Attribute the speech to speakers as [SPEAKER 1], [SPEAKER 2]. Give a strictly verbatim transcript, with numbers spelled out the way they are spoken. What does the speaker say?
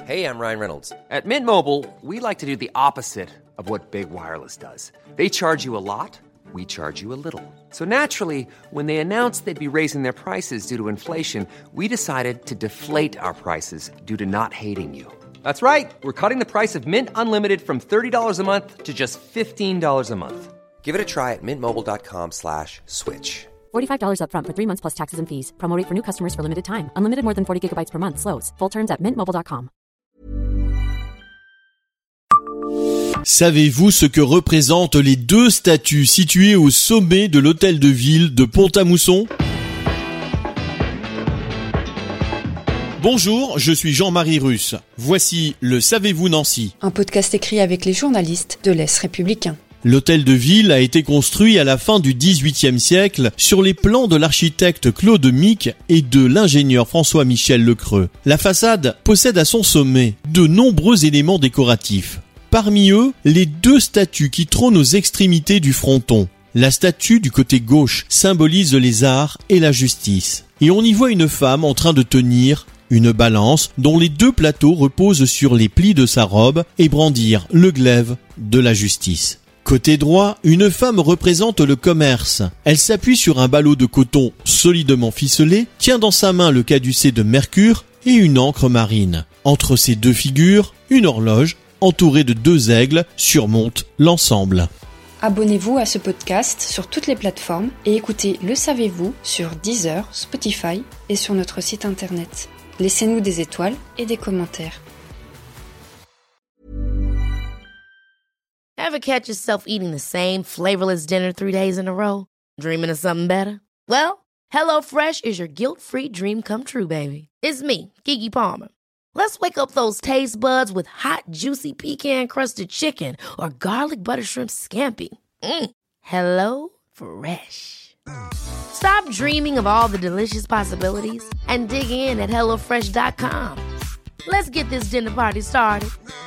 [SPEAKER 1] Hey, I'm Ryan Reynolds. At Mint Mobile, we like to do the opposite of what Big Wireless does. They charge you a lot, we charge you a little. So naturally, when they announced they'd be raising their prices due to inflation, we decided to deflate our prices due to not hating you. That's right. We're cutting the price of Mint Unlimited from thirty dollars a month to just fifteen dollars a month. Give it a try at mintmobile.com slash switch.
[SPEAKER 2] forty-five dollars up front for three months plus taxes and fees. Promo rate for new customers for limited time. Unlimited more than forty gigabytes per month. Slows full terms at mint mobile dot com.
[SPEAKER 3] Savez-vous ce que représentent les deux statues situées au sommet de l'hôtel de ville de Pont-à-Mousson ? Bonjour, je suis Jean-Marie Russe. Voici le Savez-vous Nancy ?
[SPEAKER 4] Un podcast écrit avec les journalistes de l'Est républicain.
[SPEAKER 3] L'hôtel de ville a été construit à la fin du dix-huitième siècle sur les plans de l'architecte Claude Mique et de l'ingénieur François-Michel Lecreux. La façade possède à son sommet de nombreux éléments décoratifs. Parmi eux, les deux statues qui trônent aux extrémités du fronton. La statue du côté gauche symbolise les arts et la justice. Et on y voit une femme en train de tenir une balance dont les deux plateaux reposent sur les plis de sa robe et brandir le glaive de la justice. Côté droit, une femme représente le commerce. Elle s'appuie sur un ballot de coton solidement ficelé, tient dans sa main le caducée de Mercure et une encre marine. Entre ces deux figures, une horloge entourée de deux aigles surmonte l'ensemble.
[SPEAKER 4] Abonnez-vous à ce podcast sur toutes les plateformes et écoutez Le Savez-vous sur Deezer, Spotify et sur notre site internet. Laissez-nous des étoiles et des commentaires.
[SPEAKER 5] Ever catch yourself eating the same flavorless dinner three days in a row? Dreaming of something better? Well, HelloFresh is your guilt-free dream come true, baby. It's me, Keke Palmer. Let's wake up those taste buds with hot, juicy pecan-crusted chicken or garlic butter shrimp scampi. Mm. Hello Fresh. Stop dreaming of all the delicious possibilities and dig in at hello fresh dot com. Let's get this dinner party started.